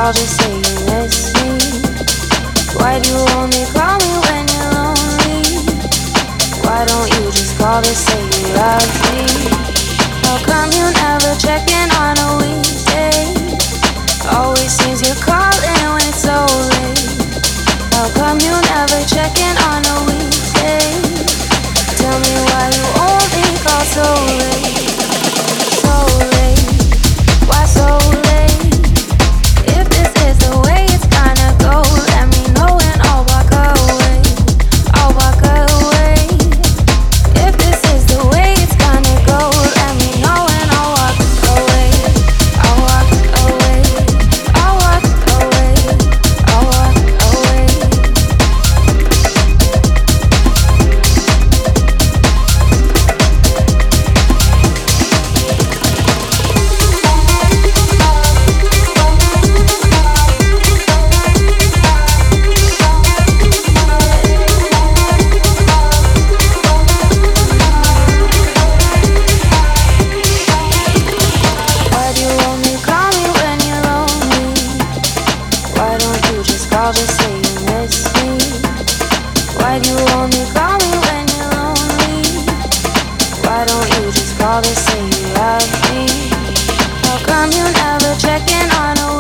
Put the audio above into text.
call, just say you miss me. Why do you only call me when you're lonely? Why don't you just call to say you love me? How come you never check in on a weekday? Always seems you're calling when it's so late. How come you never check in on a weekday? Tell me why you only call so late. So late, why so late? If this is the way it's gonna go, let me know and I'll walk away. I'll walk away. If this is the way it's gonna go, let me know and I'll walk away. I'll walk away. I'll walk away. I'll walk away. Why do you only call me when you're lonely? Why don't you just call, just say you miss me? Why do you only call me when you're lonely? Why don't you just call to say you love me? How come you never check in on a